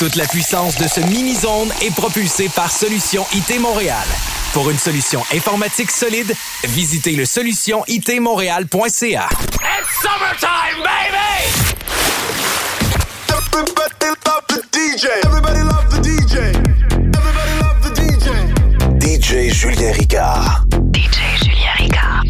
Toute la puissance de ce mini-zone est propulsée par Solution IT Montréal. Pour une solution informatique solide, visitez le solutionitmontréal.ca. It's summertime, baby! Everybody love the DJ. Everybody love the DJ. Everybody love the DJ. DJ Julien Ricard. DJ Julien Ricard.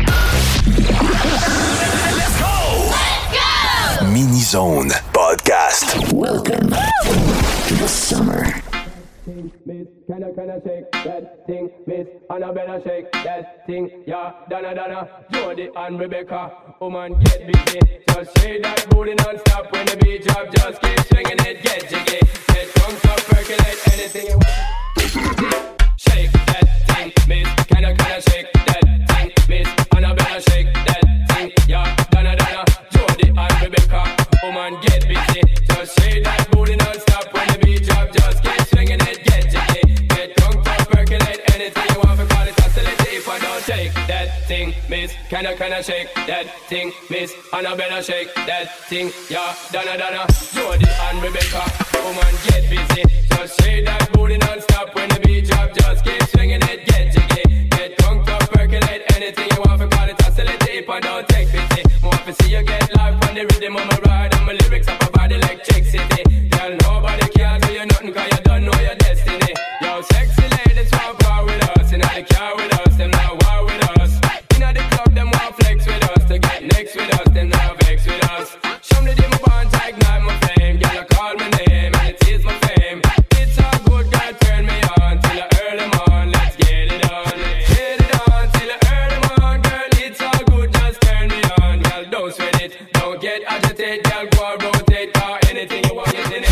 Let's go! Let's go! Mini-zone podcast. Welcome to the summer. Miss, can I shake that thing, Miss Annabella shake that thing, yeah, Donna, Jody and Rebecca, woman get busy, just shake that booty non-stop when the beat drop, just keep swinging it, get jiggy, get drunk, up, percolate, anything you want. Shake that thing, Miss, can I shake that thing, Miss Annabella shake that thing, yeah, Donna, Jody and Rebecca, woman get busy, just shake that booty non-stop when the beat drop, just keep swinging it. Shake that thing, Miss. Can I shake that thing, Miss Annabella shake that thing, yeah. Donna, Jody and Rebecca, woman get busy. Just shake that booty non-stop when the beat drop. Just keep swinging it, get jiggy, get drunk, up, percolate, anything you want. For call it oscillate, if I don't take pity. More to see you get live on the rhythm of my ride, and my lyrics up a body like Chick City. Girl, nobody can do you nothing 'cause you don't know your destiny. Yo, sexy ladies want power with us, and I care with us, them now. Next with us, then now vex with us. Show me the demo bond, ignite my flame. Girl, you call my name, and it is my fame. It's all good, girl, turn me on till the early morn. Let's get it on. Get it on till the early morn, girl. It's all good, just turn me on. Girl, don't sweat it, don't get agitated. Girl, go and rotate, or anything you want, is in it.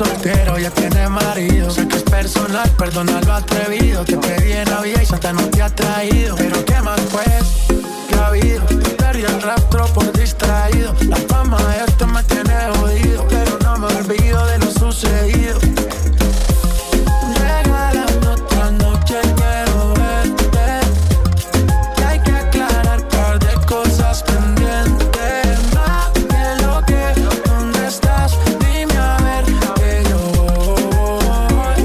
soltero, ya tiene marido. Sé que es personal, perdona lo atrevido. Te pedí en la vida y Santa no te ha traído. Pero qué más pues, ¿qué ha habido? Perdí el rastro por distraído. La fama de esto me tiene jodido, pero no me olvido de lo sucedido. Regálame otra noche, quiero verte. Que hay que aclarar par de cosas pendientes. Más que lo que, ¿dónde estás? Dime a ver que yo voy.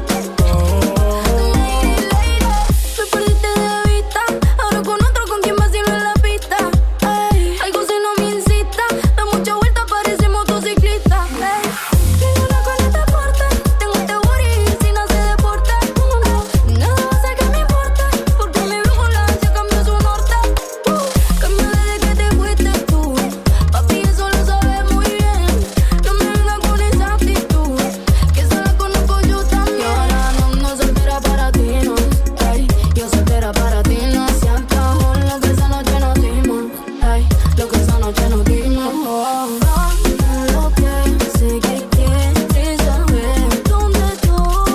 Me perdiste de vista, ahora con otro con quien vacilo en la pista. Ay, algo si no me incita, da mucha vuelta, parece motociclista. Ay, tengo una coleta fuerte, tengo este booty si no se deporta. Nada va a ser que me importe, porque mi brújula ya cambió su norte. Cambió desde que te fuiste tú, papi, eso lo sabes muy bien. No me vengas con esa actitud, que esa la conozco yo también. Y ahora no soltera para ti, no. Ay, yo soltera para ti, no. Se acabó lo que esa noche nos dimos. Ay, lo que esa noche nos dimos. Lo que sé que quieres saber dónde estoy.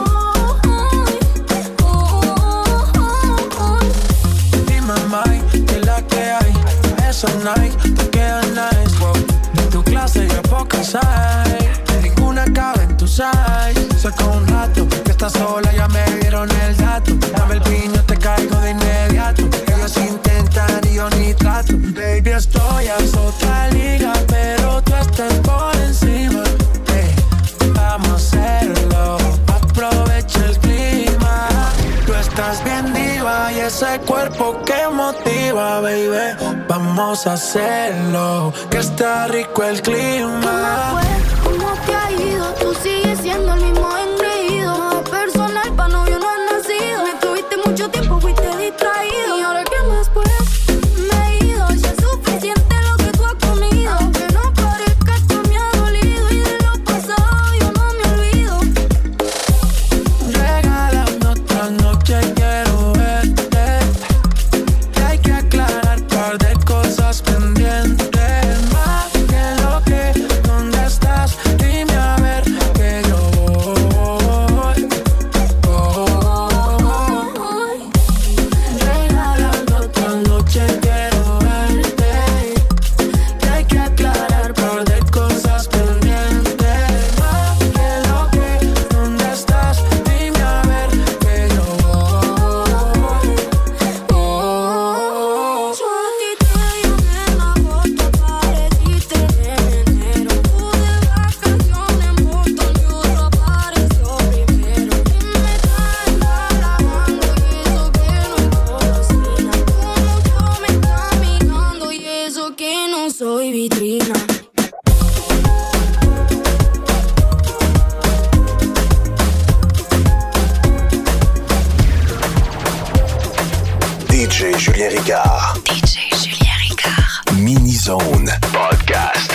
Dime, Mike, que la que hay. Esa Nike te queda nice, wow. De tu clase ya pocas hay. Ninguna cabe en tu size. Saca un rato, que estás sola, ya me dieron el dato. Dame el piño, te caigo de inmediato. Ellos intentan y yo ni trato. Baby, estoy a otra liga, pero tú estás por encima. Vamos a hacerlo, aprovecha el clima. Tú estás bien diva y ese cuerpo que motiva, baby. Vamos a hacerlo, que está rico el clima. ¿Cómo te ha ido? Tú sigues siendo el mismo engreído. No es personal, pa' novio no has nacido. Me tuviste mucho tiempo, fuiste distraído. ¿Y ahora qué más pues? Me he ido, ya es suficiente lo que tú has comido. Aunque no parezca, esto me ha dolido. Y de lo pasado yo no me olvido. Regálame otra noche, quiero verte. Que hay que aclarar par de cosas pendientes. Más que lo que, ¿dónde estás? Dime a ver que yo voy. Regálame otra noche, quiero verte. Que hay que aclarar par de cosas pendientes. Más que lo que, ¿dónde estás? Dime a ver que yo voy. Yo a ti te llamé en agosto, apareciste en enero. Pude vacaciones en Boston y otro apareció primero. Y me están grabando y eso que no es cocina. Como yo me está mirando y eso que no soy vitrina. DJ Julien Ricard. DJ Julien Ricard. Mini Zone Podcast.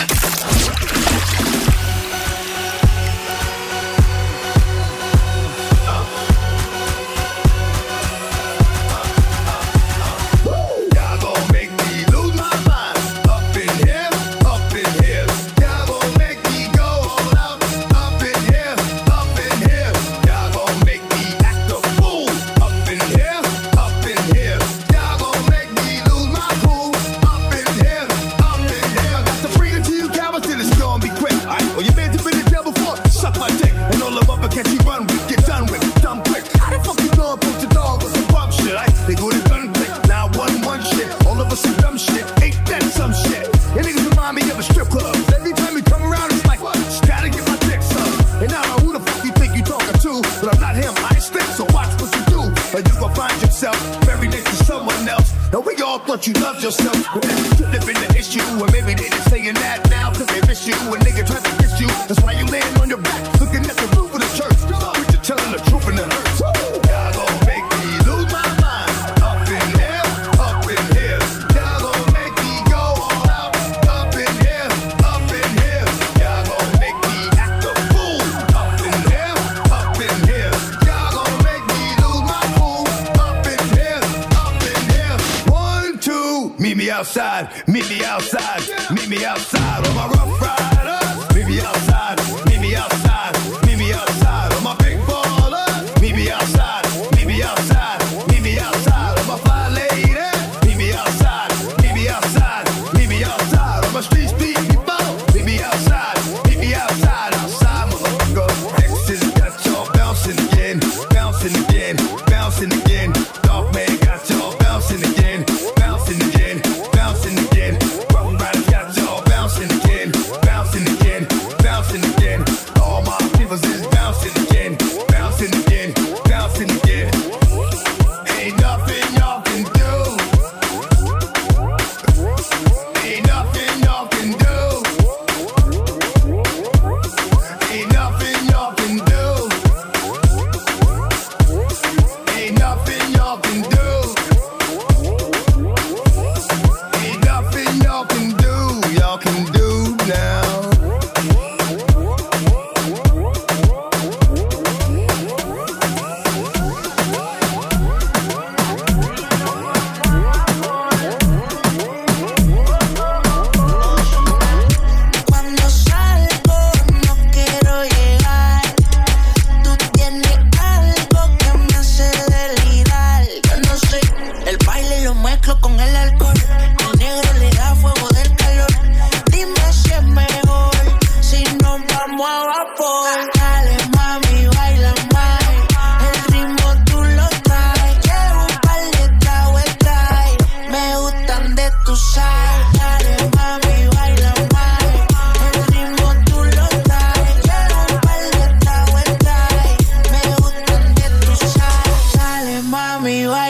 Y'all gon' make me lose my mind. Up in here, up in here. Y'all gon' make me go all out. Up in here, up in here. Y'all gon' make me act a fool. Up in here, up in here. Y'all gon' make me lose my cool. Up in here, up in here. Got to bring it to you, cowards, till it's gonna be quick. Aight, well, you been to the devil before. Suck my dick, and all the rubber can't you run with. Get done with, dumb quick. How the fuck you gonna put your dog with some bum shit? Aight, they go to gun quick. Now one shit. All of us some dumb shit. Ain't that some shit? You niggas remind me of a strip club. Every time we come around, it's like, just gotta get my dick sucked. And I don't know who the fuck you think you talking to, but I'm not him, I stink, so watch what you do. Or you gon' find yourself buried next to someone else. And we all thought you loved yourself, but that could have been the issue. Or maybe they just saying that now, cause they miss you. A nigga tried to kiss you, that's why you laying on your back, looking at the roof of the church. But you're telling the truth and it hurts. Y'all gon' make me lose my mind. Up in here, up in here. Y'all gon' make me go all out. Up in here, up in here. Y'all gon' make me act a fool. Up in here, up in here. Y'all gon' make me lose my cool. Up in here, up in here. 1, 2, meet me outside, meet me outside, meet me outside. On my rough riders, meet me outside, meet me outside.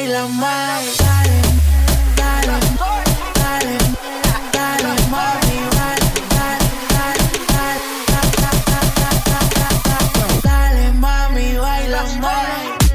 baila más. Dale, dale, dale, dale, mami, dale, dale, dale, dale, dale, mami, baila más.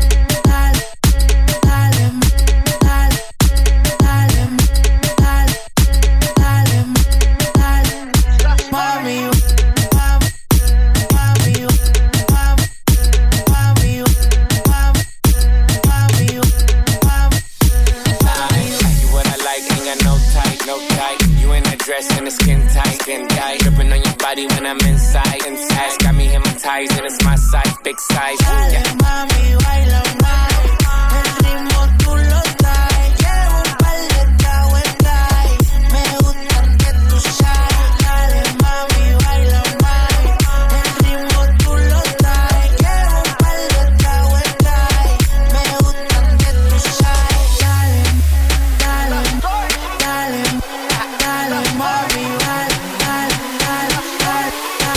And the skin tight, dripping on your body when I'm inside. Got me hypnotized and it's my size, big size. Dale, mami, baila más. El ritmo tú lo traes. Llevo un par de tragos en trae. Me gustan que tú sabes. Dale, mami, baila más. El ritmo tú lo traes. Llevo un par de tragos en trae. Me gustan que tú sabes. Dale, dale, dale, dale, mami, dale, dale, dale,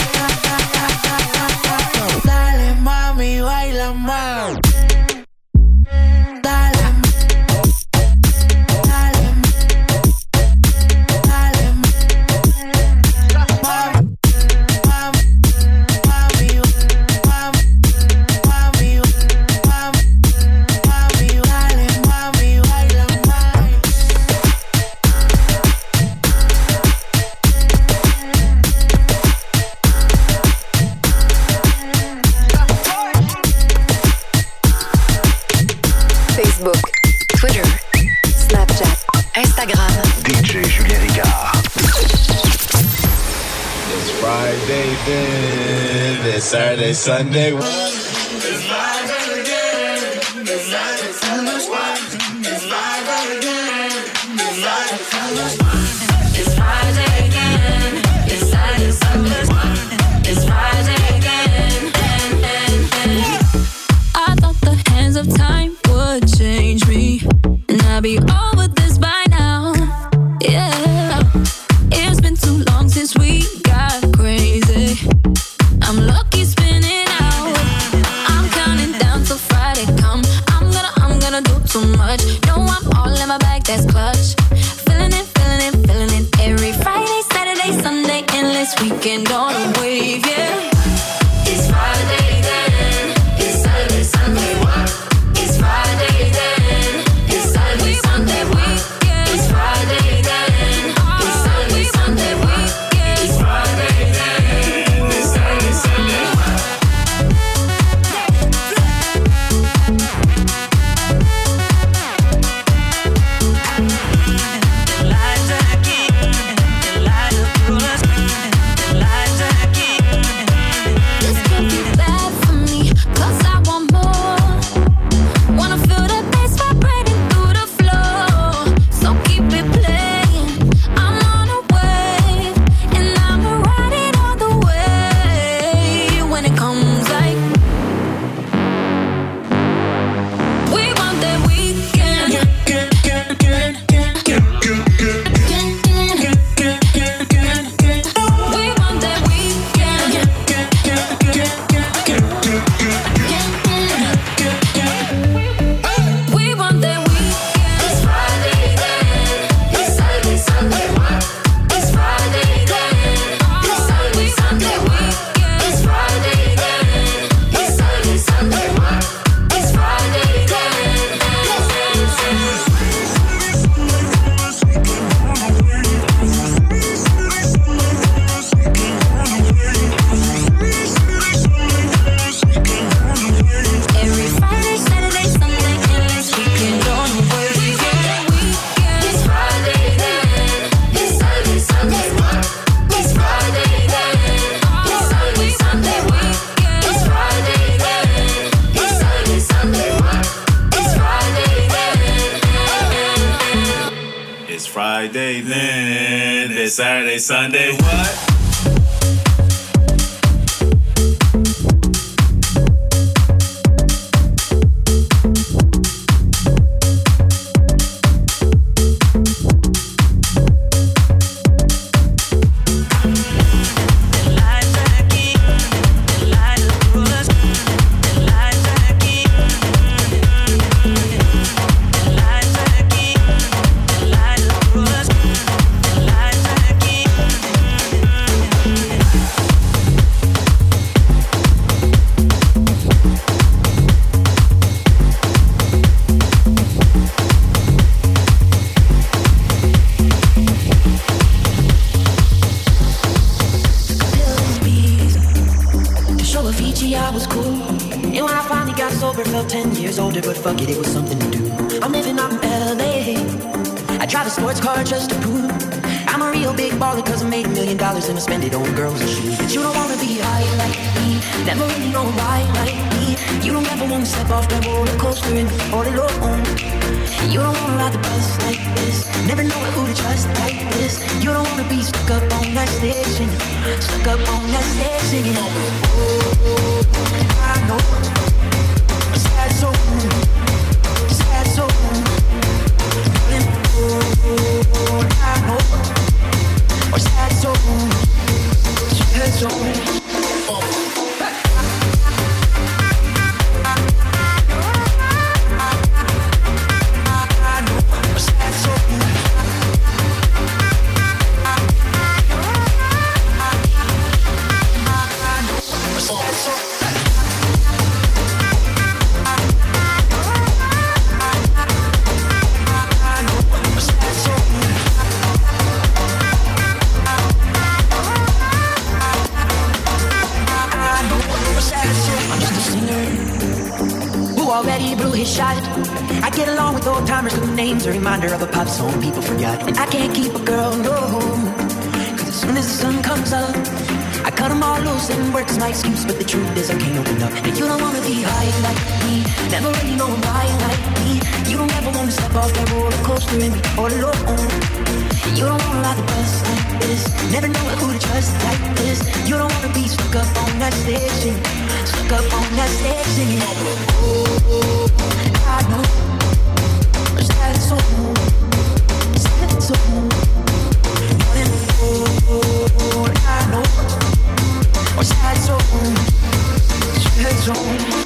dale, dale, mami, baila más. Dale, dale, dale, mami, dale, mami, baila más. Facebook, Twitter, Snapchat, Instagram. DJ Julien Ricard. It's Friday then, it's Saturday, Sunday. I thought the hands of time would change me, and I'd be over this by now. Yeah, it's been too long since we got crazy. I'm lucky spinning out. I'm counting down till Friday come. I'm gonna do too much. No, I'm all in my bag, that's clutch. Feeling it, feeling it, feeling it. Every Friday, Saturday, Sunday, endless weekend on a wave, yeah. It's Friday then. It's Saturday, Sunday, what? It's Friday then. It's Saturday, Sunday, weekend. It's Friday then. It's Saturday, Sunday, weekend. It's Friday then. It's Saturday, Sunday, what? This can't be bad for me, 'cause I want more. Wanna feel the bass vibrating through the floor. So keep it playing. I'm on a wave, and I'ma ride it all the way. When it comes like we want that weekend. We want that weekend. We want that weekend. It's Friday then. It's Saturday, Sunday, what? It's Friday then. It's Saturday, Sunday, weekend. It's Friday then. It's Saturday, Sunday, what? It's Friday then. Every Friday, Saturday, Sunday, endless weekend on the wave. It's Friday then. It's Saturday, Sunday, what? It's Friday then. It's Saturday, Sunday, weekend. It's Friday then. It's Saturday, Sunday, what? It's Friday then. It's Friday then. It's Saturday, Sunday, what? drive a sports car just to prove I'm a real big baller, cause I made $1 million and I spend it on girls and shoes. But you don't wanna be high like me, never really know why like me. You don't ever wanna step off that roller coaster and be all alone. You don't wanna ride the bus like this, never know who to trust like this. You don't wanna be stuck up on that stage singing, stuck up on that stage singing. Oh, I know, sad soul, sad soul. Oh, I know, sad soul, sad soul. Already blew his shot. I get along with old timers whose names are a reminder of a pop song people forgot. And I can't keep a girl, no, cause as soon as the sun comes up, I cut them all loose and work as my excuse. But the truth is I can't open up. And you don't wanna be high like me, never really know why like me. You don't ever wanna step off that roller coaster and be all alone. You don't wanna ride the bus like this, never know who to trust like this. You don't wanna be stuck up on that stage singing, stuck up on that stage singing. Oh, I know, sad soul, sad soul. Oh, I know, sad soul, sad soul.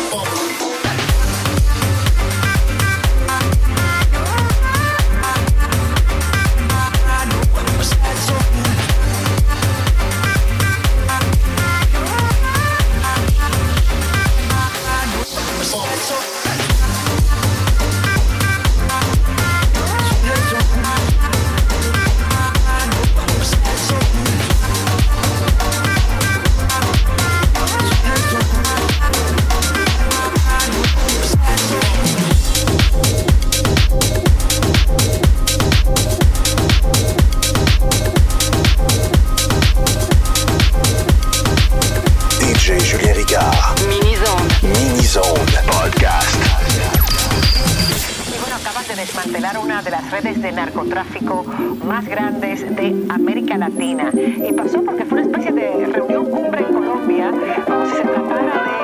Más grandes de América Latina. Y pasó porque fue una especie de reunión cumbre en Colombia, como si se tratara de...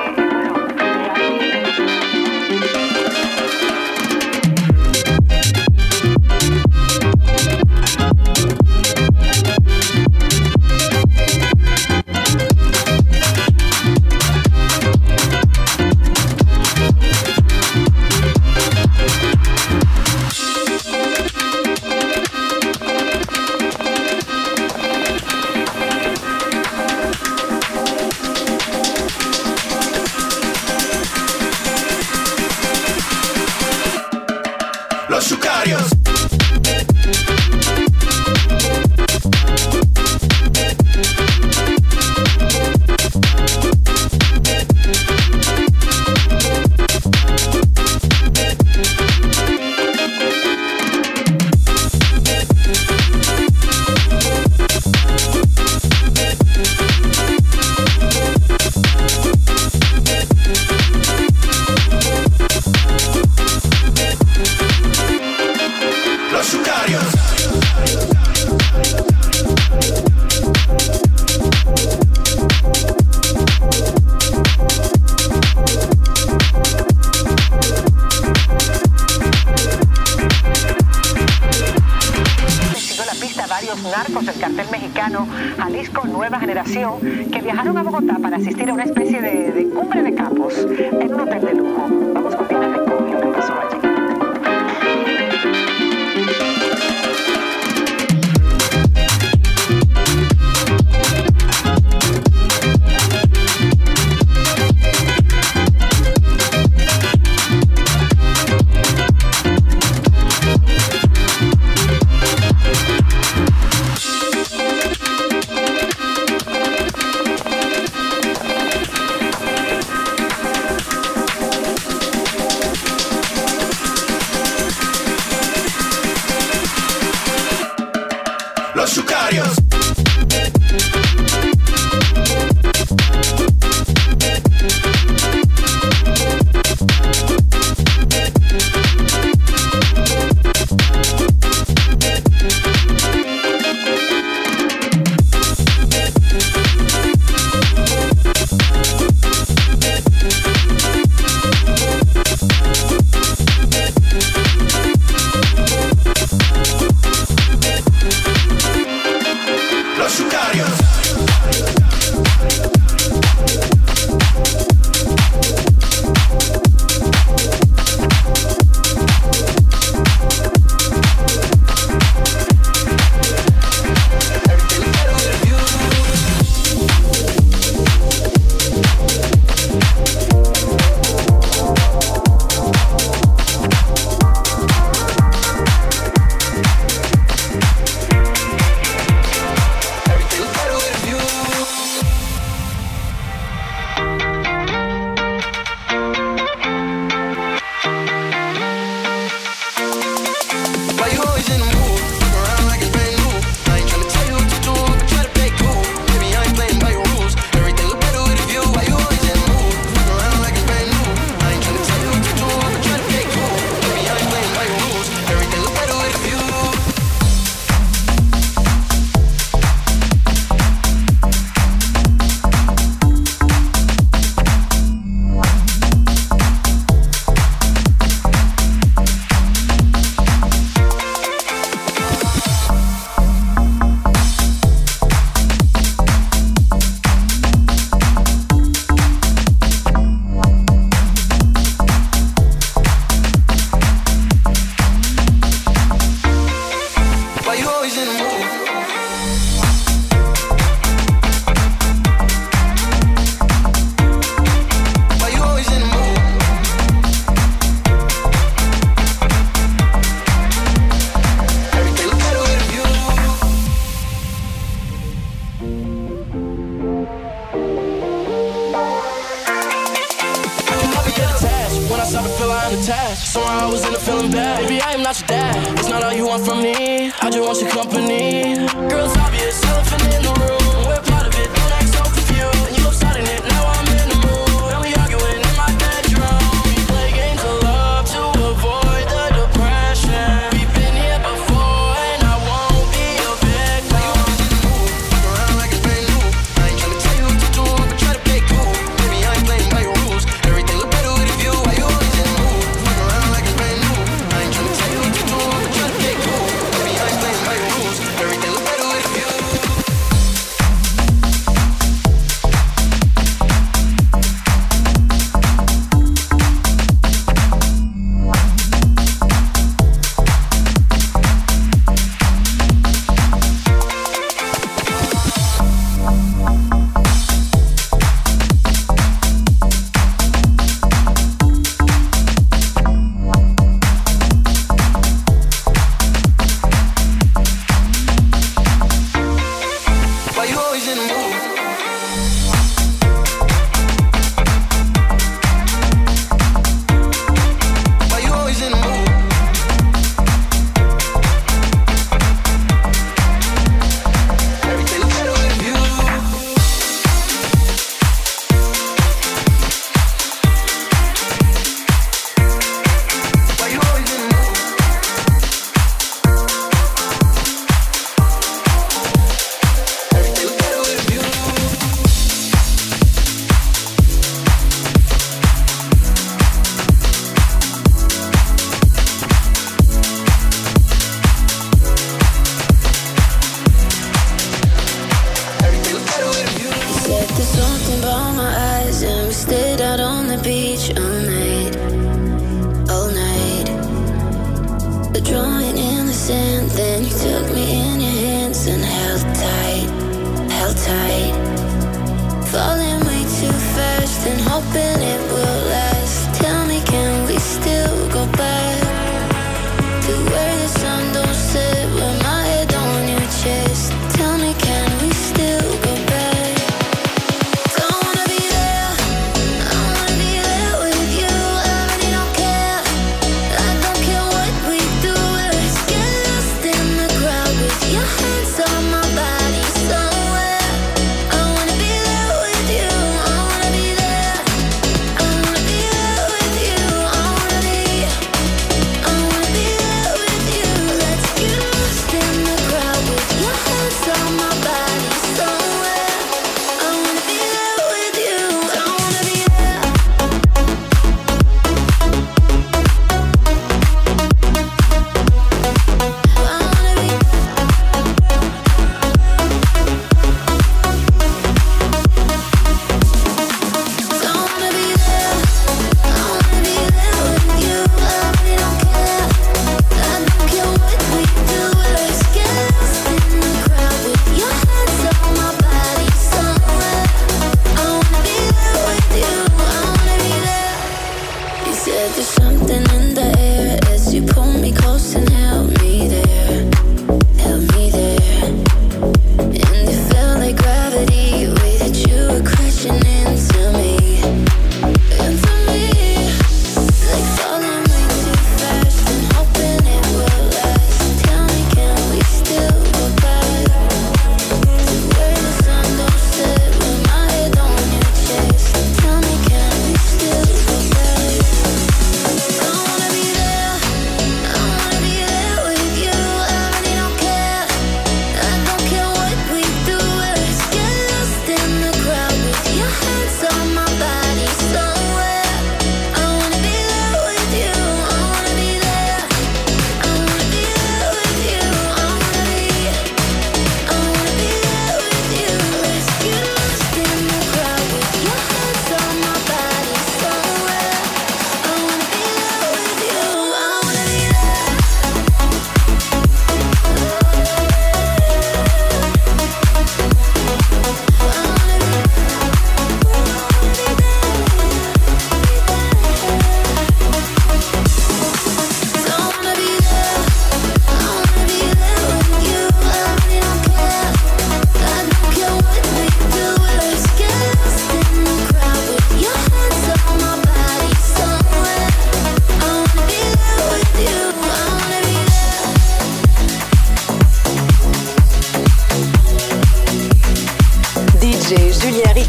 narcos del cartel mexicano Jalisco Nueva Generación, que viajaron a Bogotá para asistir a una especie de cumbre de capos en un hotel de lujo. Vamos con Diana Recon, lo que pasó allí. Los Sicarios. Your hands on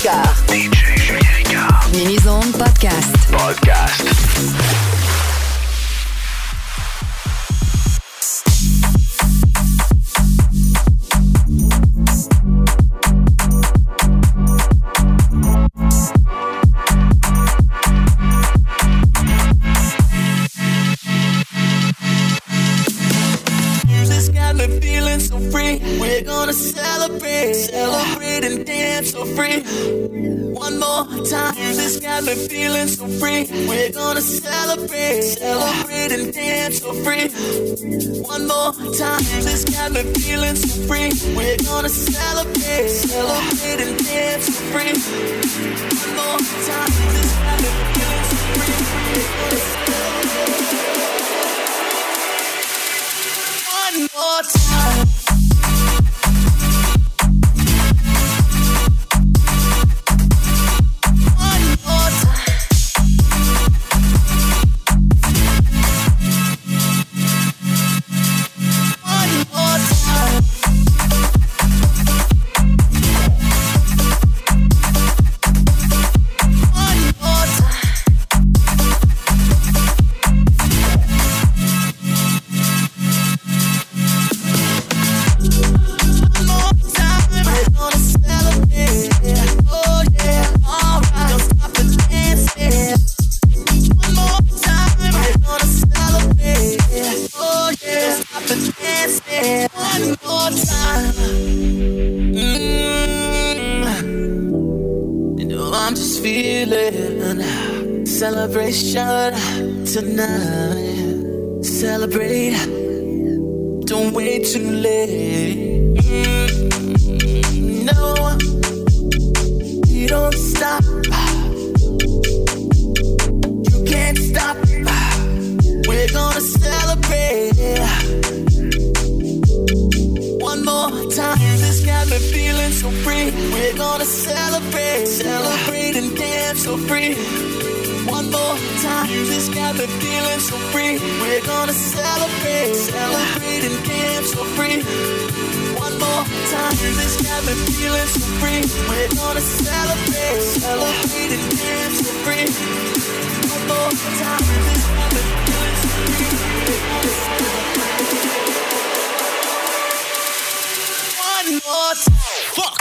Ricard. DJ Julien Ricard. Mini-zone podcast. Podcast. So free, we're gonna celebrate and dance so free. One more time, this got me feeling so free. We're gonna celebrate and dance so free. One more time, this got me feeling so free. We're gonna celebrate and dance so free. One more time, this got me feeling so free. We're gonna celebrate. One more time. Celebration tonight. Celebrate. Don't wait too late. No, you don't stop. You can't stop. We're gonna celebrate. One more time. This got me feeling so free. We're gonna celebrate and dance so free. One more time, this got me feeling so free. We're gonna celebrate and dance so free. One more time, this got me feeling so free. We're gonna celebrate and dance so free. One more time, this got me feeling so free. We're gonna celebrate. One more time. Fuck.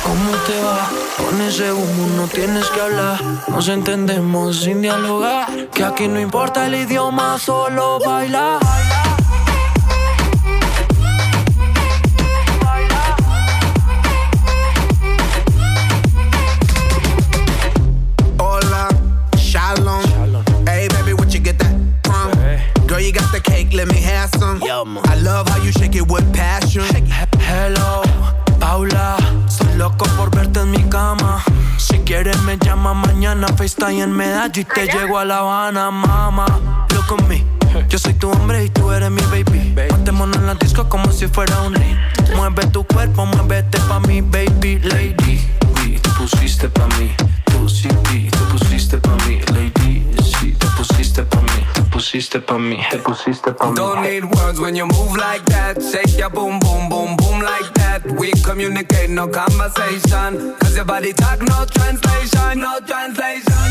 ¿Cómo te va? Con ese humo no tienes que hablar. Nos entendemos sin dialogar. Que aquí no importa el idioma, solo bailar. Hola, shalom. Hey baby, what you get that from? Girl, you got the cake, let me have some. I love how you shake it with passion. Hello, Paula. Soy loco por verte en mi cama. Si quieres me llama mañana. FaceTime en Medallo y te llego a La Habana, mama. Look at me. Yo soy tu hombre y tú eres mi baby. Matémonos en la disco como si fuera un ring. Mueve tu cuerpo, muévete pa' mi baby lady. Te pusiste pa' mí. Tú sí, te pusiste pa' mí, lady. Sí, te pusiste pa' mí. Te pusiste pa' mí. Te pusiste pa' mí. Don't need words when you move like that. Shake your boom, boom, boom, boom like that. We communicate, no conversation. Cause your body talk, no translation, no translation.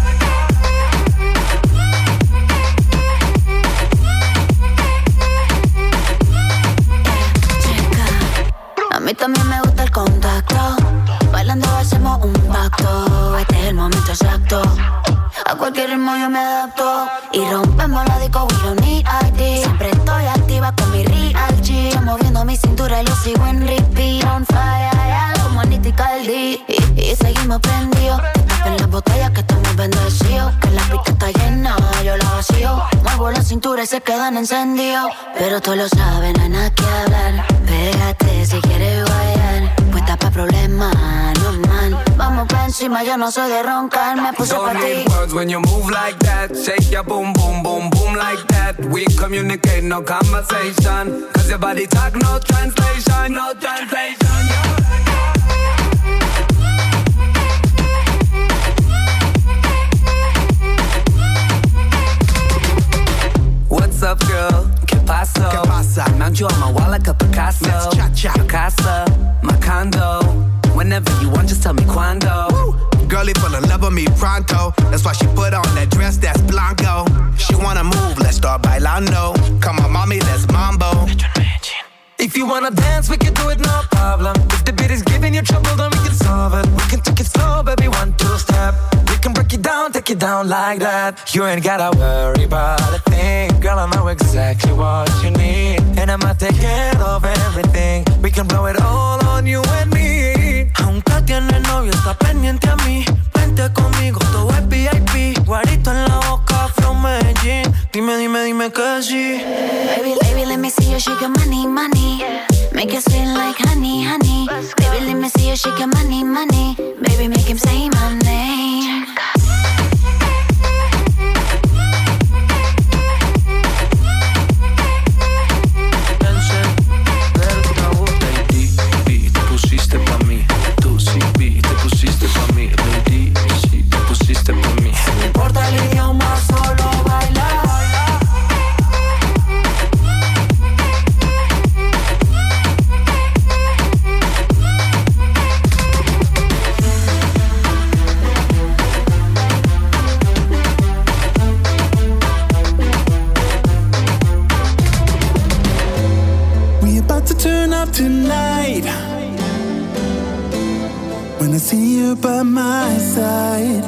A mí también me gusta el contacto. Bailando hacemos un pacto. Este es el momento exacto. A cualquier ritmo yo me adapto. Y rompemos la disco, we don't need ID. Siempre estoy activa con mi real G. Moviendo mi cintura y lo sigo en repeat. On fire, como Anita y Cardi. Y seguimos prendidos. Tapen las botellas que estamos bendecidos. Que la pista está llena, yo la vacío. Muevo la cintura y se quedan encendidos. Pero tú lo sabes, no hay nada que hablar. Pégate si quieres guayar. Puesta pa' problemas, no man. Vamos pa' encima, yo no soy de roncar. Me puse pa' ti. Don't need words when you move like that. Shake your boom, boom, boom, boom like that. We communicate, no conversation. Cause your body talk, no translation, no translation. What's up, girl? ¿Qué pasó? ¿Qué pasa? Mount you on my wall like a Picasso. Let's cha-cha. Your casa, my condo. Whenever you want, just tell me cuando. Woo! Girlie fell in love with me pronto. That's why she put on that dress that's blanco. She wanna move, let's start bailando. Come on, mommy, let's mambo. If you wanna dance, we can do it, no problem. If the beat is giving you trouble, then we can solve it. We can take it slow, baby, 1, 2 step. We can break it down, take it down like that. You ain't gotta worry about a thing. Girl, I know exactly what you need. And I'ma take care of everything. We can blow it all on you and me. Aunque tiene novio, está pendiente a mí. Vente conmigo, todo es VIP. Guarito en la boca, from Medellín. Dime que sí. Baby, let me see you shake your money, money. Make it sweet like honey, honey. Baby, let me see you shake your money, money. Baby, make him say my name. Te pusiste pa' mí. Tú sí, te pusiste pa' mí. Lady, sí, te pusiste pa' mí. No importa el idioma, solo bailar. To turn up tonight. When I see you by my side,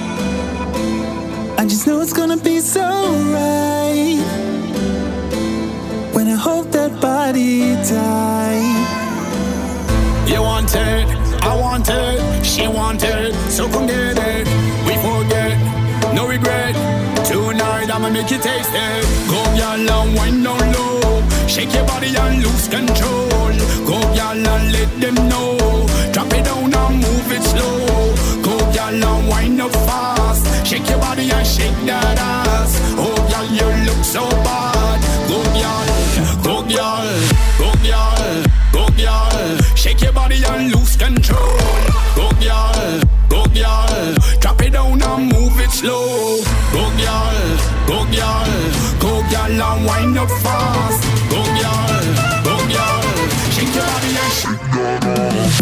I just know it's gonna be so right. When I hold that body tight. You want it, I want it, she want it, so come get it. We forget, no regret. Tonight I'ma make you taste it. Go y'all and wind down low. Shake your body and lose control. Go y'all and let them know. Drop it down and move it slow. Go y'all and wind up fast. Shake your body and shake that ass. Oh y'all, you look so bad. Go y'all, go y'all, go y'all, go y'all. Shake your body and lose control. Go y'all, go y'all. Drop it down and move it slow. Go y'all, go y'all, go y'all and wind up fast. Go y'all, shake your body and shake that ass.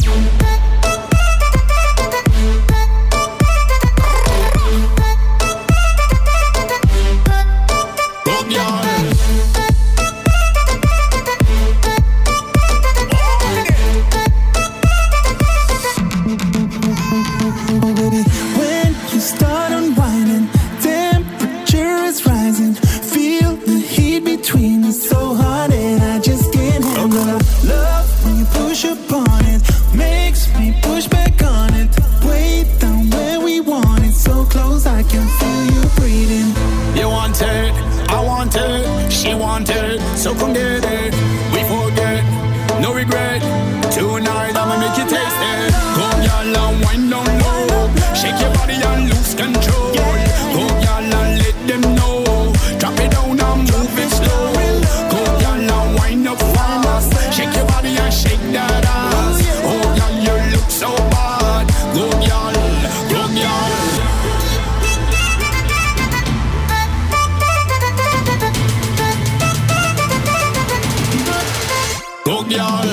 Go y'all. girl and wind down low. Shake your body and lose control. Go girl and let them know. Drop it down and move it slow. Go girl and wind up fast. Shake your body and shake that ass. Oh girl, you look so bad. Go girl, go girl. Go girl.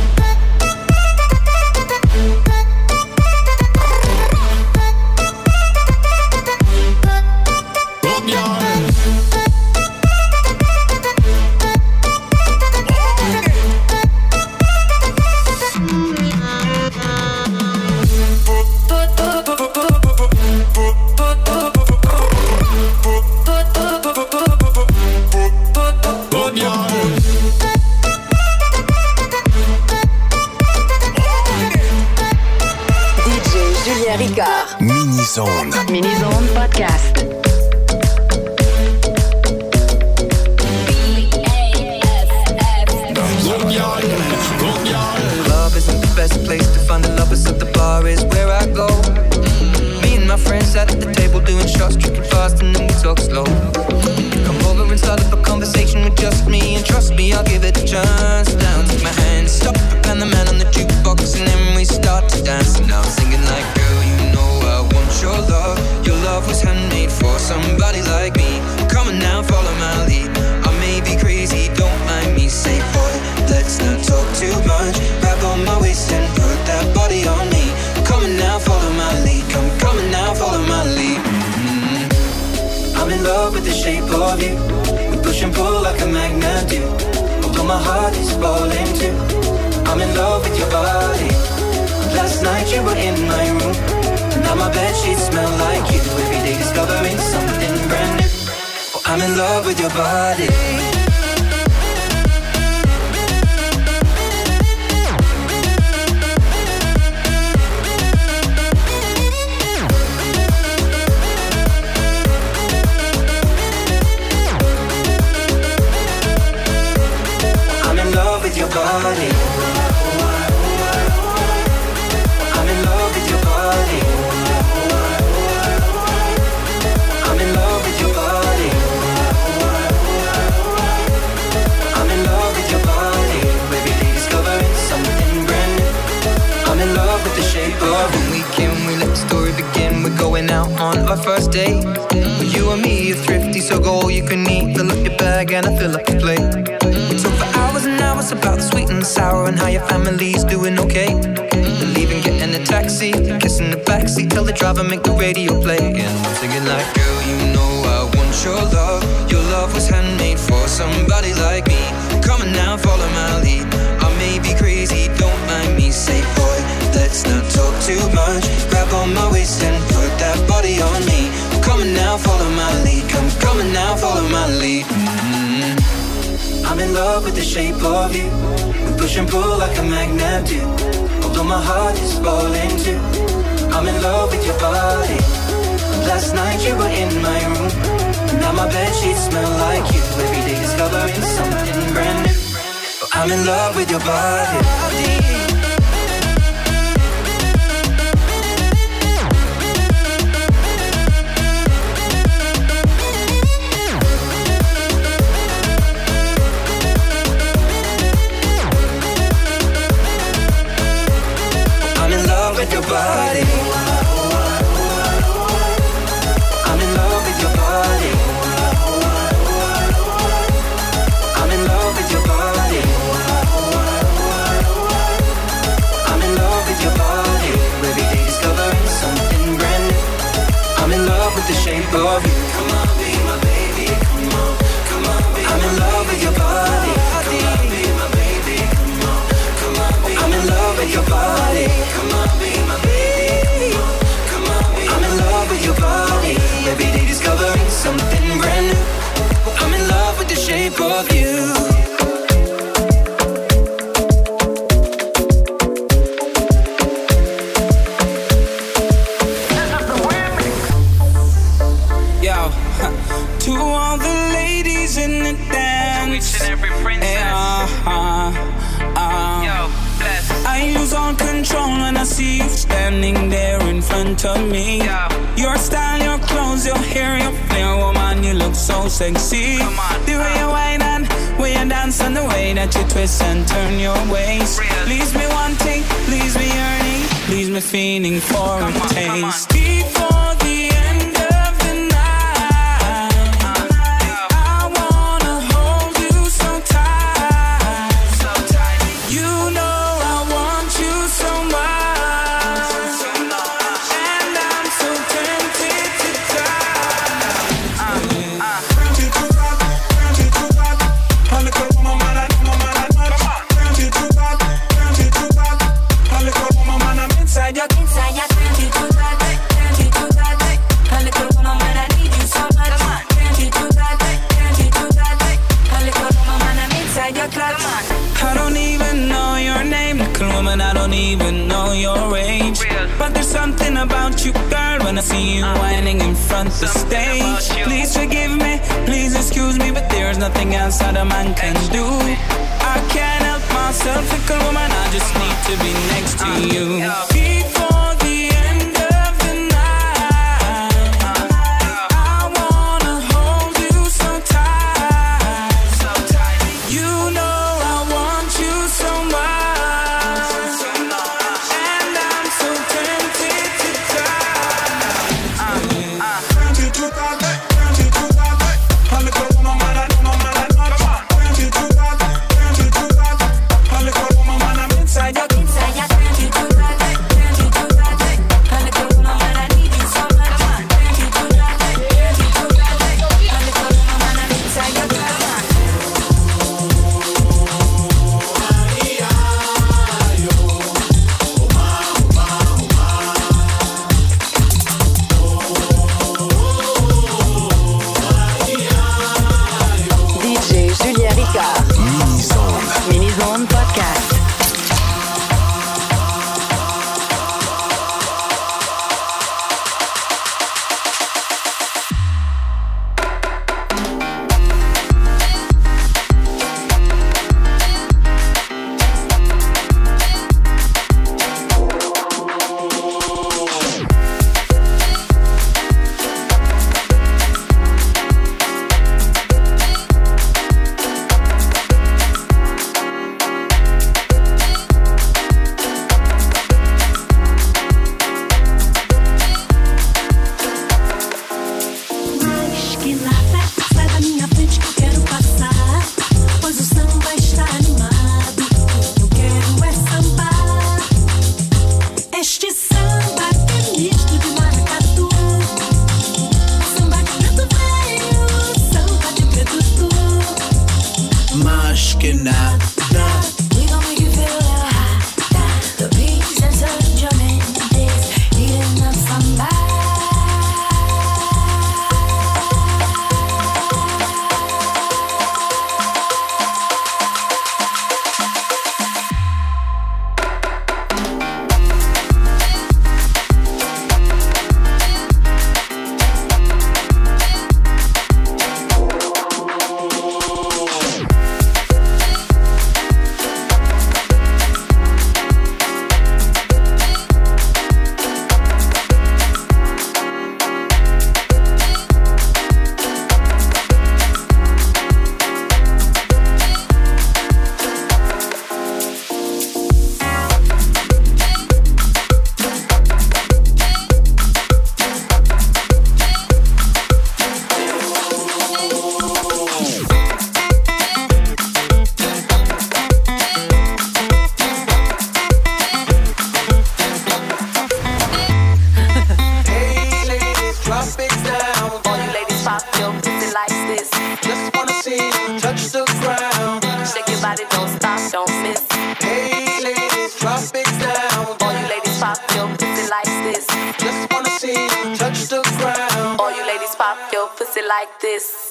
Mini-Zone. Mini-Zone Podcast. Club isn't the best place to find the lovers, so the bar is where I go. Me and my friends sat at the table doing shots, drinking fast, and then we talk slow. Come over and start up a conversation with just me, and trust me, I'll give it a chance. Down, take my hand, stop, and the man on the jukebox, and then we start to dance. And now I'm singing like, girl, you know I want your love. Your love was handmade for somebody like me. Come on now, follow my lead. I may be crazy, don't mind me. Say, boy, let's not talk too much. Grab on my waist and put that body on me. Come on now, follow my lead. Come on now, follow my lead. I'm in love with the shape of you. We push and pull like a magnet do. Although my heart is falling too. I'm in love with your body. Last night you were in my room. Now my bedsheets smell like you. Every day discovering something brand new. Oh, I'm in love with your body. I'm in love with your body. I'm in love with your body. I'm in love with your body. I'm in love with your body. Every day discovering something brand new. I'm in love with the shape of when we came, we let the story begin. We're going out on our first date. With you and me, you're thrifty, so go all you can eat. Fill up your bag and I fill up the plate. We talk for hours and hours about the sweet and the sour and how your family's doing okay. Leaving, getting a taxi, kissing the backseat, tell the driver make the radio play. And I'm singing like, girl, you know I want your love. Your love was handmade for somebody like me. Come on now, follow my lead. I may be crazy, don't mind me. Say, boy, let's not talk too much. Grab on my waist and put that body on me. Come on now, follow my lead. Come on now, follow my lead. I'm in love with the shape of you. We push and pull like a magnet do. Although my heart is falling too. I'm in love with your body. Last night you were in my room. Now my bedsheets smell like you. Every day discovering something brand new. I'm in love with your body. With your body, I'm in love with your body. I'm in love with your body. I'm in love with your body. Every day discovering something brand new. I'm in love with the shape of you. Come on, be my baby. Come on, come on, be I'm in love with your body. Come on, be my baby. Come on, come on, be I'm in love with your body. Come on, be my baby. Come on, be I'm in love with your body. Every day discovering something brand new. I'm in love with the shape of you. To all the ladies in the dance, each and every princess. I lose all control when I see you stand standing there in front of me. Your style, your clothes, your hair, your flair, woman, you look so sexy. The way you whine and way you dance and the way that you twist and turn your waist. Leaves me wanting, leaves me yearning, leaves me feeling for a taste. Before the end of the night, I wanna hold you so tight. You know I want you so much, and I'm so tempted to I don't even know your name, little woman, I don't even know your age. But there's something about you, girl, when I see you whining in front of the stage. Please forgive me, please excuse me, but there's nothing else that a man can do. I can't help myself, little woman, I just need to be next to you. Before the end of the night, I wanna hold you so tight. You know I want you so much, and I'm so tempted to Mini-Zone Podcast. Like this.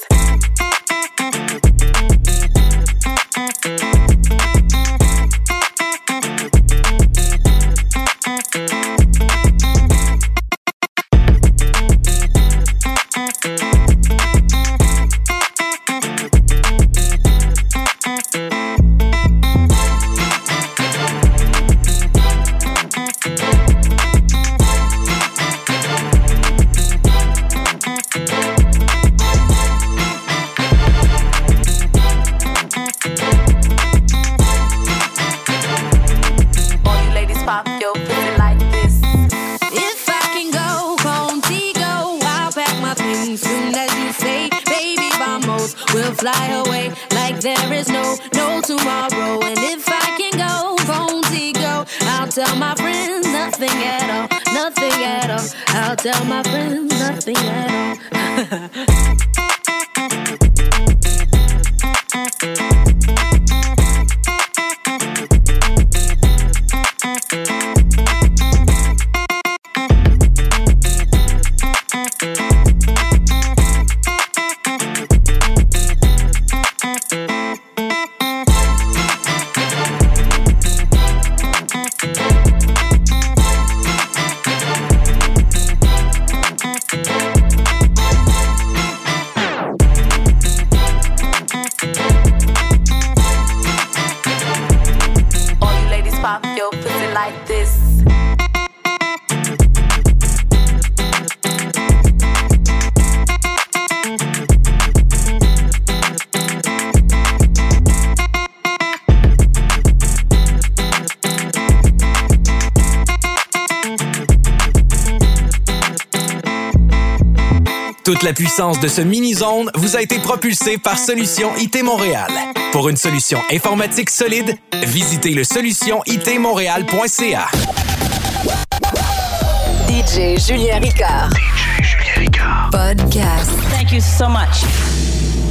fly away like there is no tomorrow. And if I can go, Fonzico, I'll tell my friends nothing at all, nothing at all. I'll tell my friends nothing at all. Toute la puissance de ce mini-zone vous a été propulsée par Solution IT Montréal. Pour une solution informatique solide, visitez le solutionitmontréal.ca. DJ Julien Ricard. DJ Julien Ricard. Podcast. Thank you so much.